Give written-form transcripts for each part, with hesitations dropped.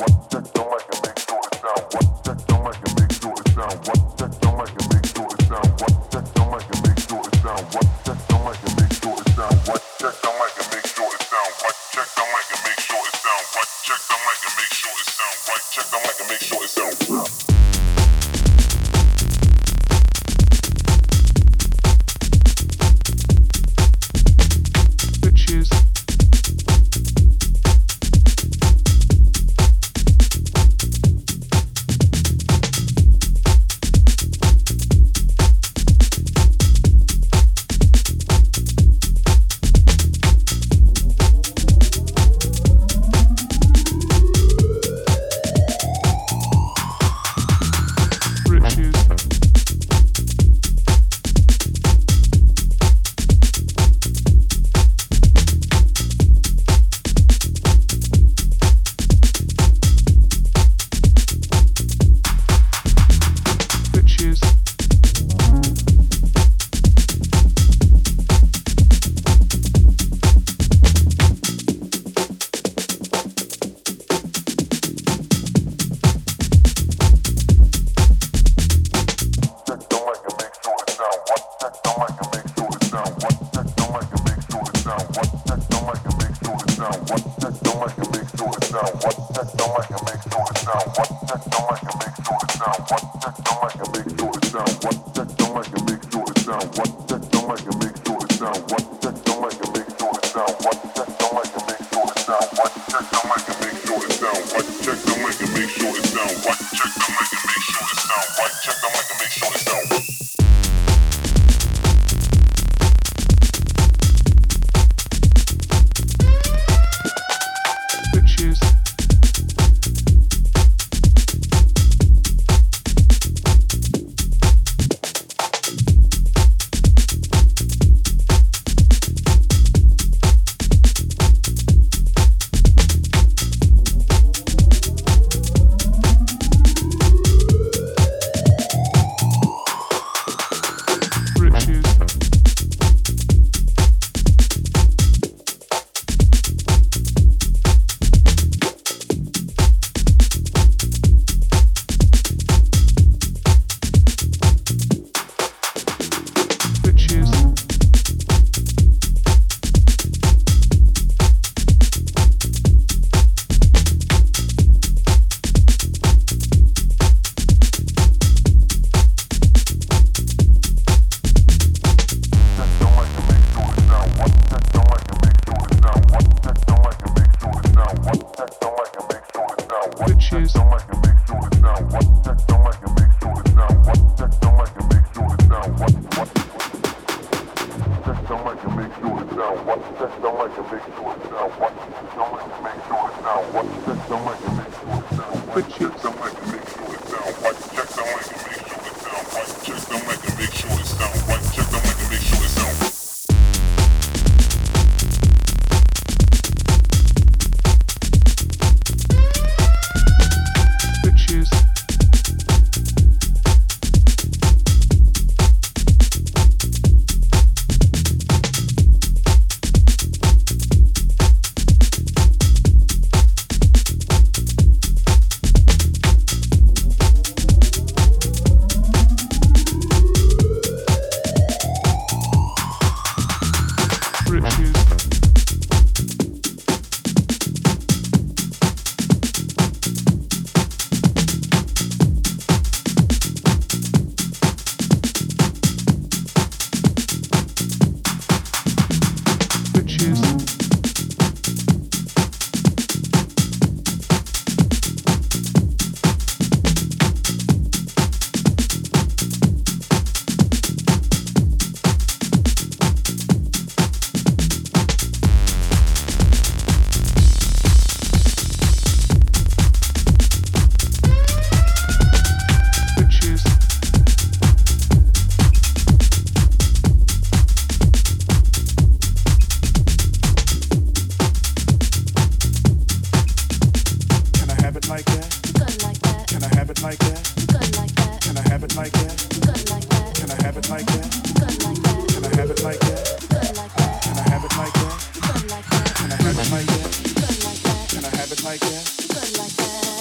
Like that.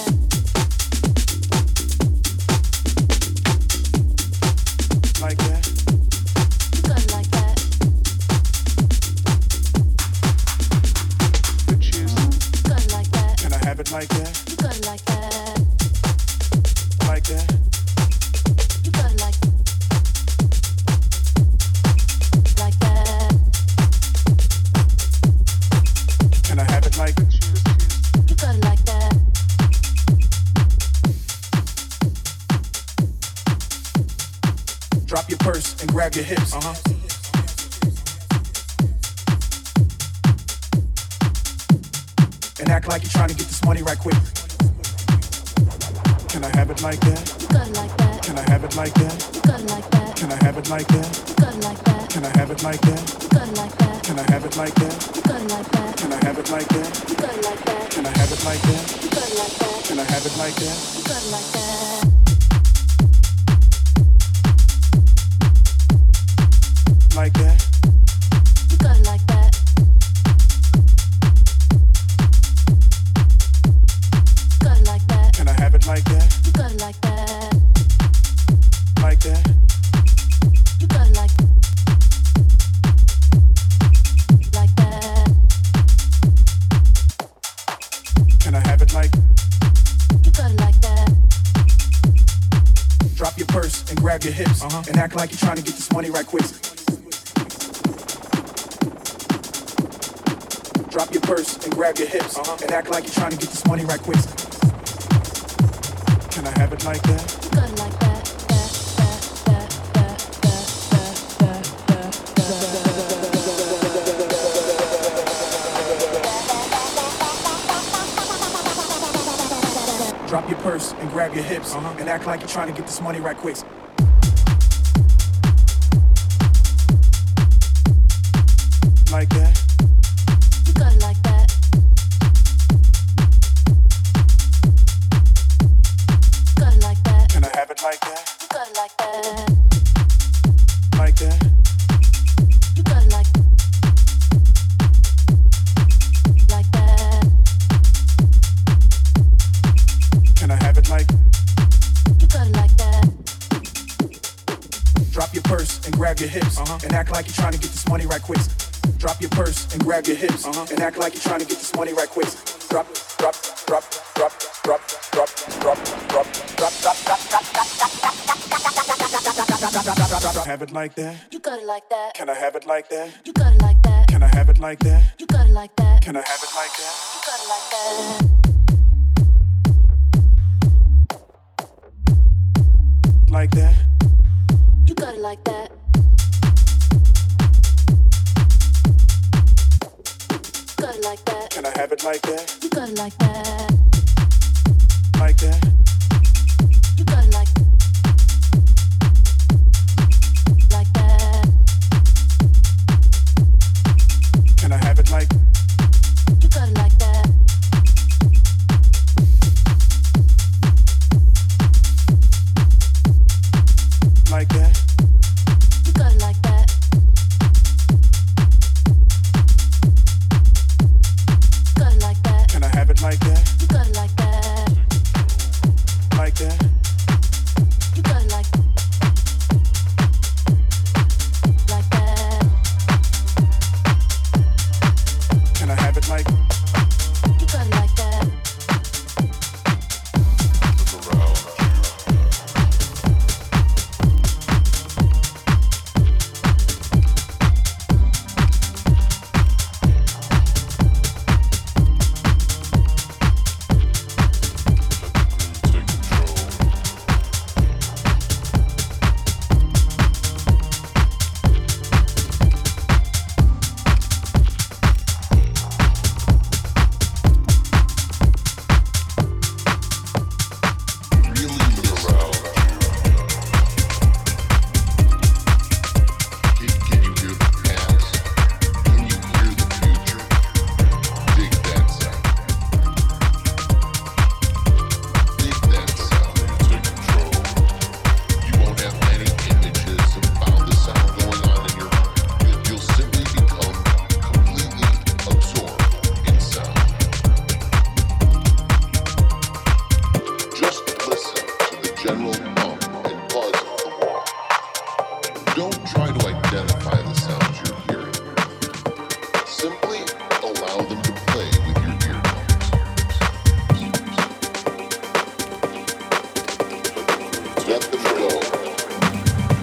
it like that? You got it like that. Like that? You got it like that. Can I have it like that? You got it like that. Drop your purse and grab your hips. And act like you're trying to get this money right quick. Can I have it like that? You got it like that. Can I have it like that? You got it like that. Can I have it like that? You got it like that. Can I have it like that? You got it like that. Can I have it like that? You got it like that. Can I have it like that? You got it like that. Can I have it like that? You got it like that. Can I have it like that? You got it like that. Like that? You got it like that. Got it like that. Can I have it like that? You got it like that. Like that? You got it like that. Can I have it like? You got it like that. Drop your purse and grab your hips. And act like you're trying to get this money right quick. Drop your purse and grab your hips. And act like you're trying to get this money right quick. Can I have it like that? You got it like that. Drop your purse and grab your hips. And act like you're trying to get this money right quick. Like that? You got it like that. Got it like that. Can I have it like that? You got it like that. Like that? You got it like that. Can I have it like? You got it like that. Drop your purse and grab your hips. And act like you're trying to get this money right quick. Drop your purse and grab your hips. And act like you're trying to get this money right quick. Drop, drop, drop, drop, drop, drop, drop, drop, drop, drop, drop. Have it like that? You got it like that. Can I have it like that? You got it like that. Can I have it like that? You got it like that. Can I have it like that? You got it like that. Like that? You got it like that. Got it like that. Can I have it like that? You got it like that. Like that? You got it like that. Can I have it like? You got it like that. Like that? You got it like that. Got it like that. Can I have it like that? You got it like that.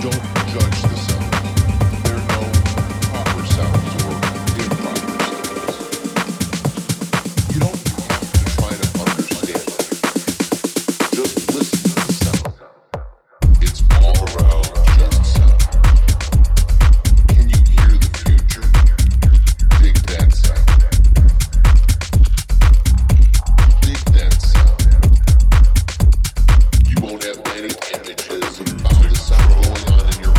Any images about the sound going on in your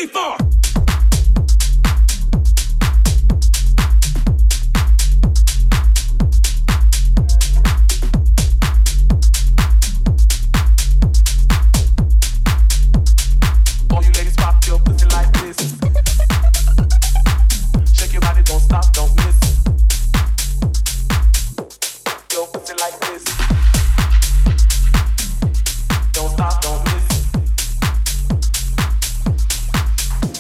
for? All you ladies pop your pussy like this. Shake your body, don't stop, don't miss. Your pussy like this. Don't stop, don't miss.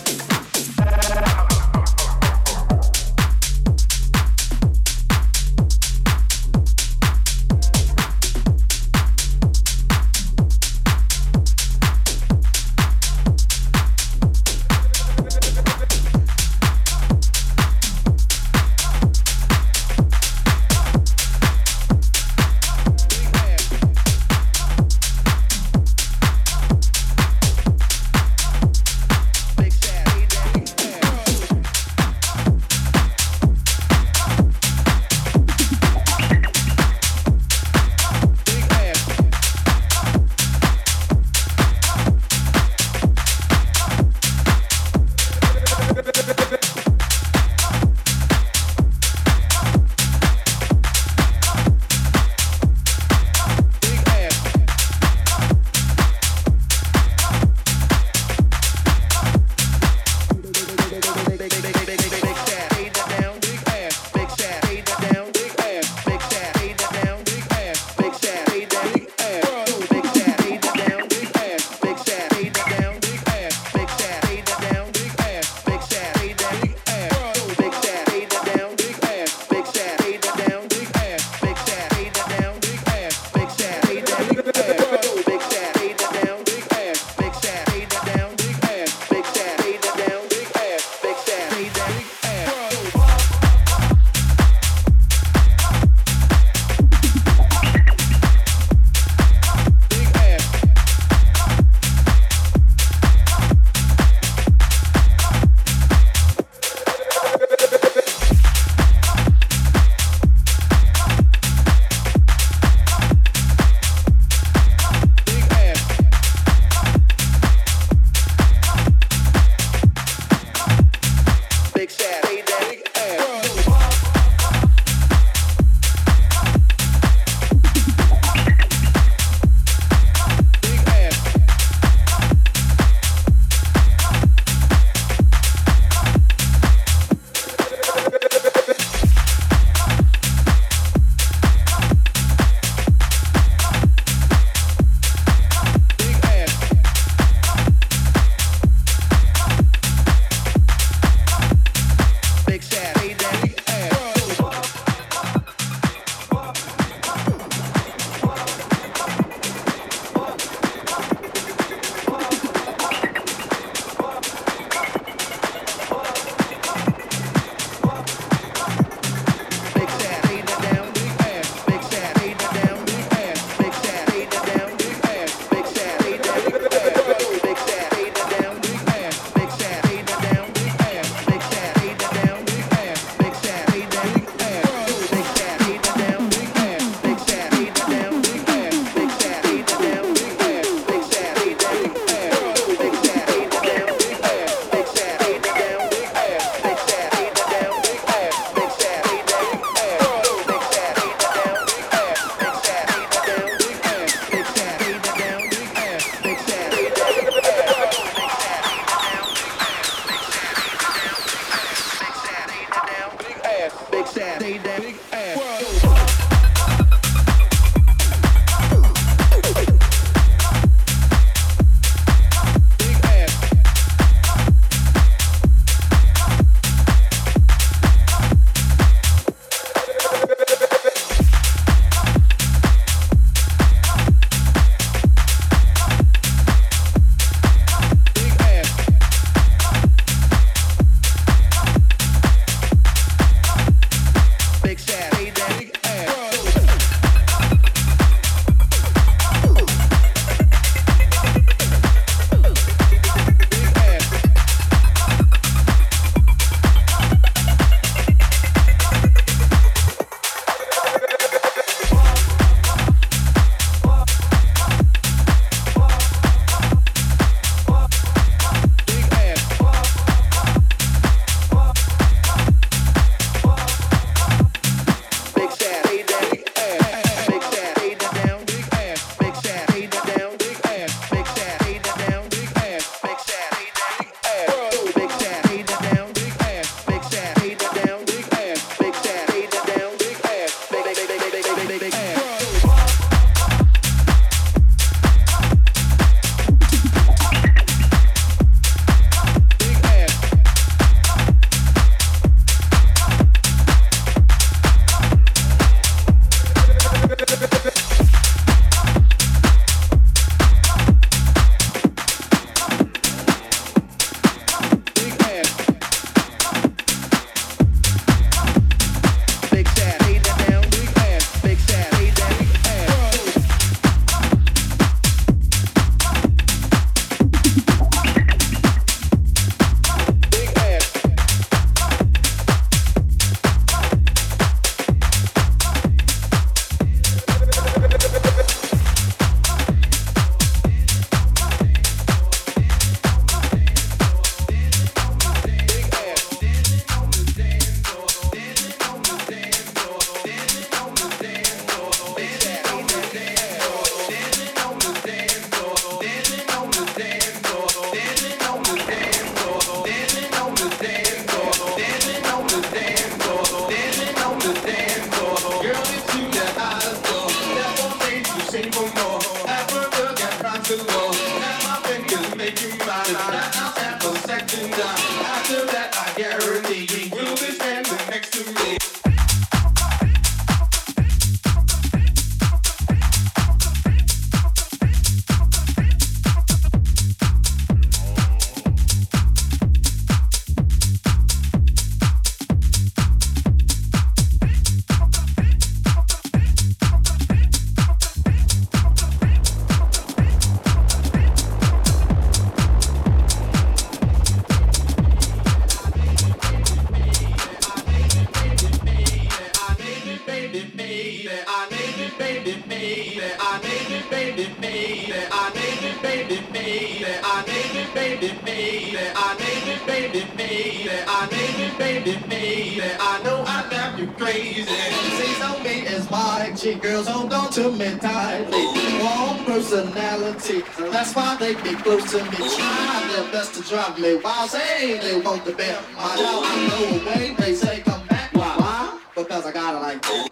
That's why they get close to me, try their best to drive me wild. Say they want the best. I know I go away, they say come back. Why? Because I got it like that.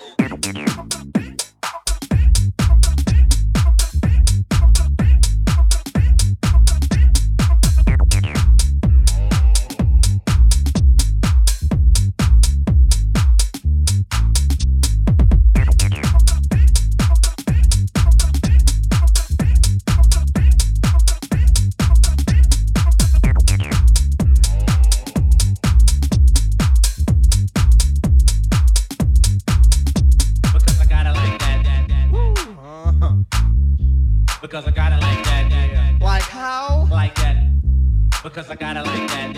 Because I got it like that. Like how? Like that. Because I got it like that.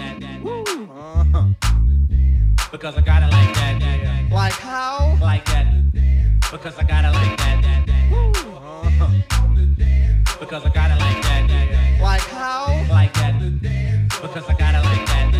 Because I got it like that. Like how? Like that. Because I got it like that. Because I got it like that. Like how? Like that. Because I got it like that.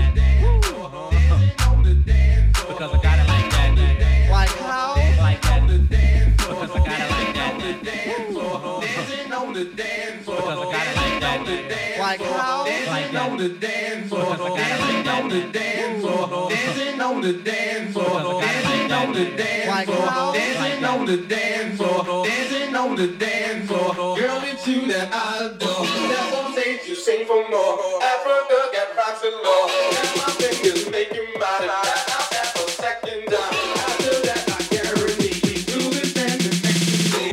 Because I got it like that. Like how? Like that. Because I got it like that. On the dance floor, because I got it like that. Like how? Like that. on the dance floor, Because I got it like that. on the dance floor, dancing on the dance floor, Because I got it like dancing that. on the dance Like floor, how? dancing on the dance floor, dancing on the dance floor. Girl, it's you that I adore. That's on stage, you sing for more. Africa got rocks and law. Got my fingers making mine. At the second time. After that, I guarantee we do this dancing next to me.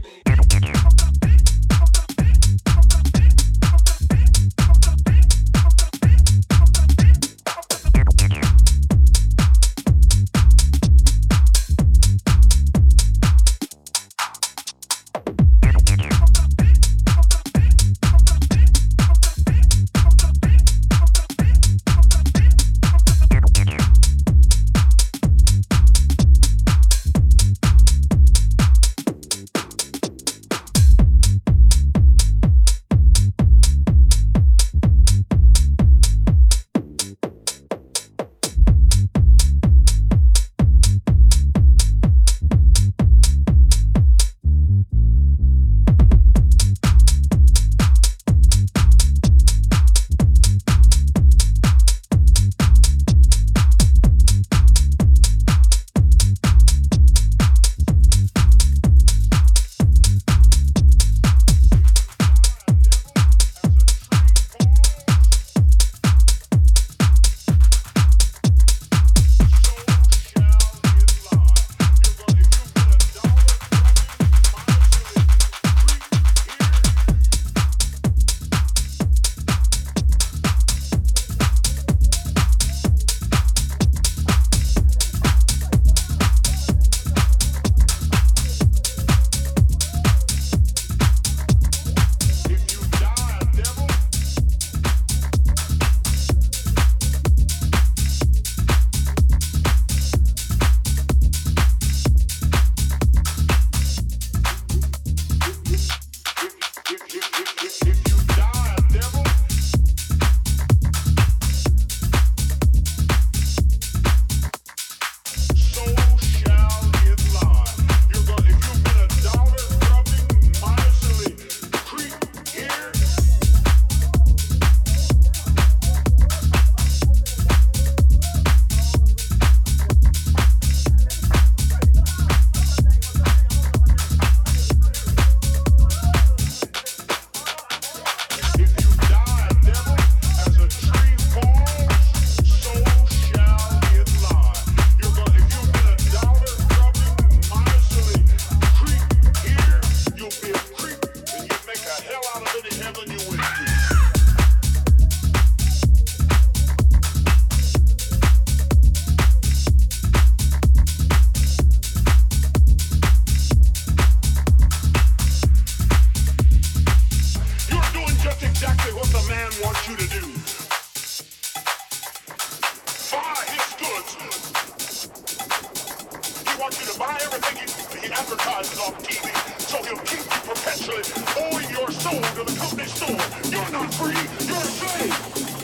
advertises on TV, so he'll keep you perpetually owing your soul to the company store. You're not free, you're a slave.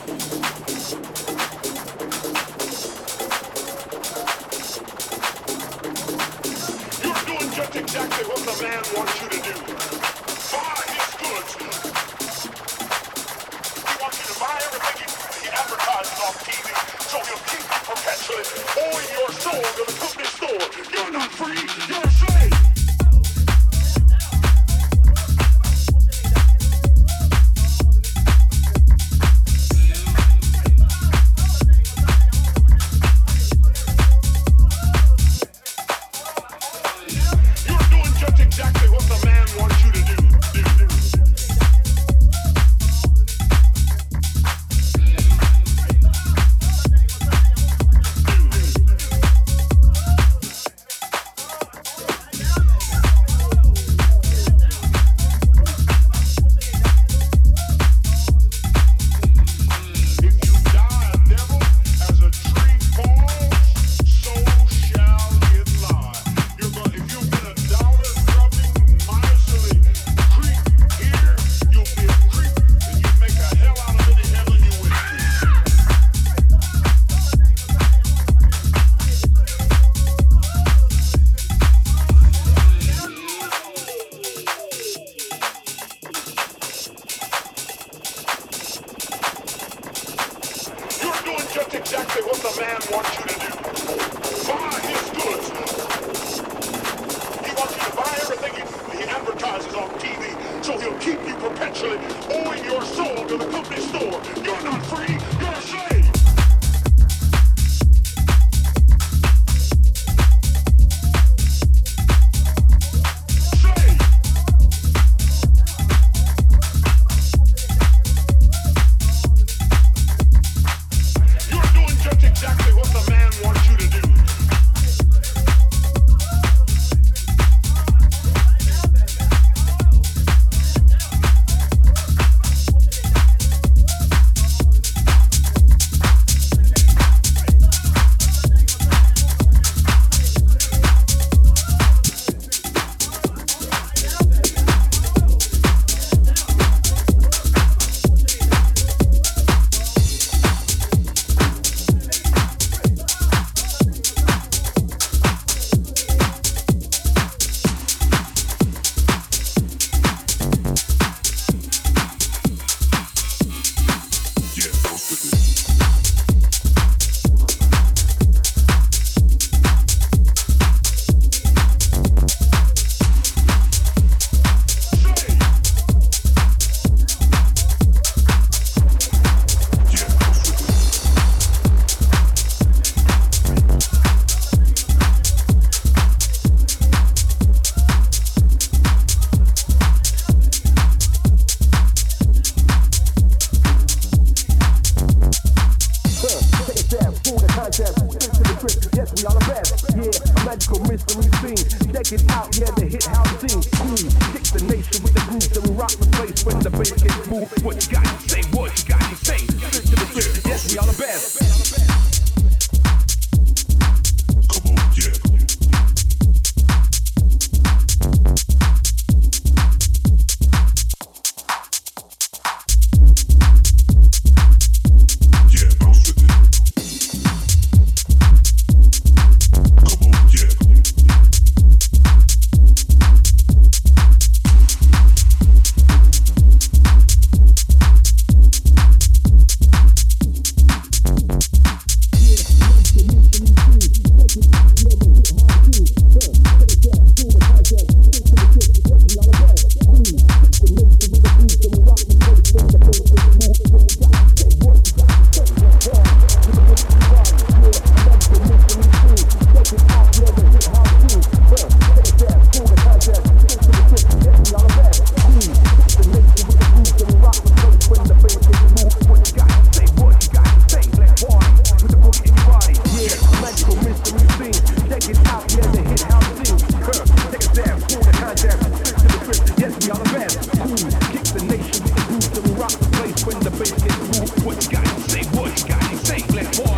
You're doing just exactly what the man wants you to do. Buy his goods. He wants you to buy everything he advertises on TV, so he'll keep you perpetually owing your soul to the company store. You're not free, you're a slave. You're doing just exactly what the man wants you to do. If you die a devil, as a tree falls, so shall it lie. If you've been a dollar grubbing, miserly creep here, you'll be a creep, and you make a hell out of any heaven you went to. You're doing just exactly what the man wants you to do. Buy his goods. He wants you to buy everything he advertises on TV, so he'll keep you perpetually owing your soul to the company store. You're not free, you're a slave. Slave. You're doing just exactly what the man wants you to do.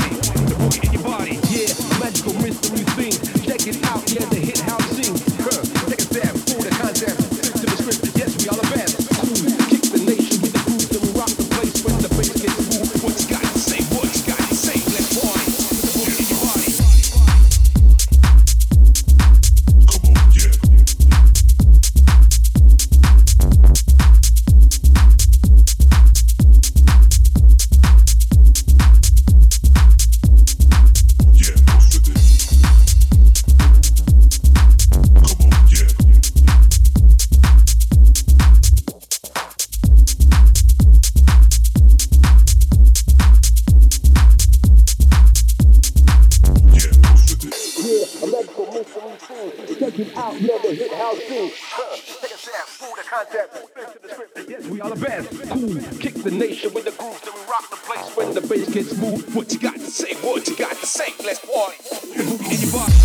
Magical mystery things, check it out, yeah, the hit house sings. never hit house scene. Take a step, pull the concept, into the script. Yes, we are the best. Cool, kick the nation with the groove, then we rock the place when the bass gets moved. What you got to say? What you got to say? Let's party. In your body.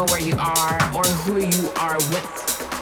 know where you are or who you are with.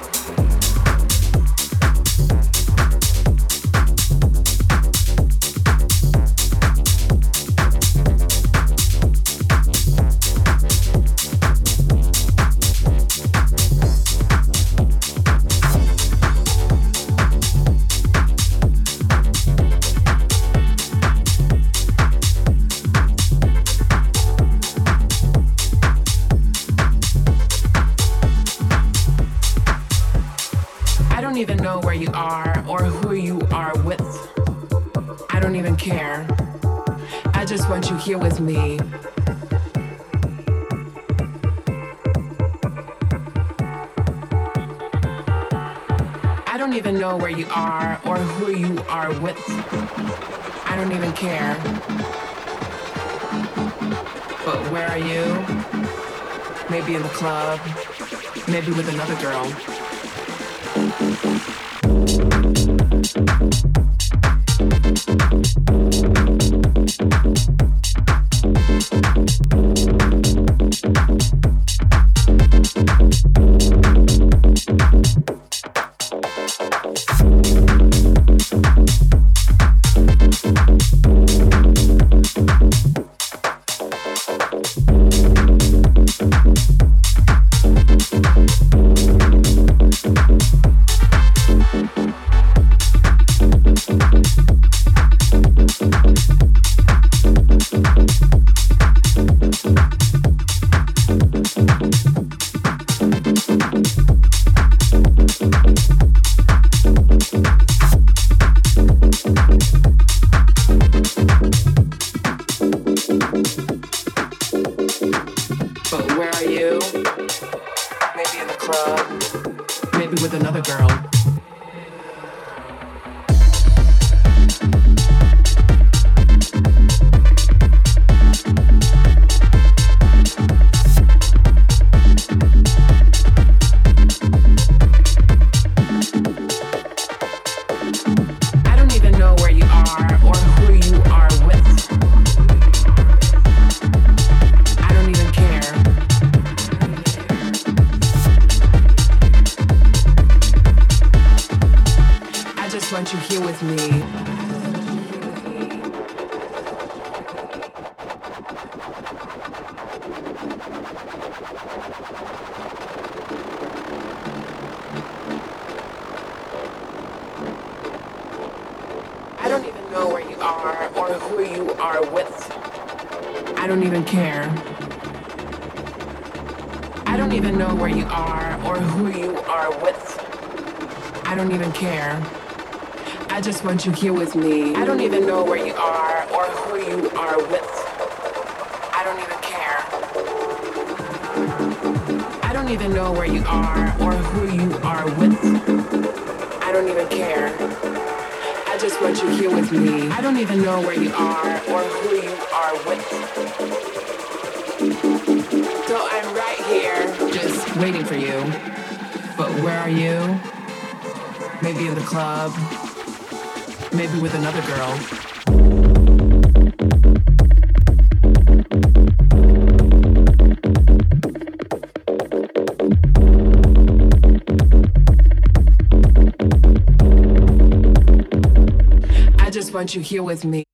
Here with me. I don't even know where you are or who you are with. I don't even care. But where are you? Maybe in the club, maybe with another girl. You here with me. I don't even know where you are or who you are with. I don't even care. I don't even know where you are or who you are with. I don't even care. I just want you here with me. I don't even know where you are or who you are with. So I'm right here, just waiting for you. But where are you? Maybe in the club. Maybe with another girl. I just want you here with me.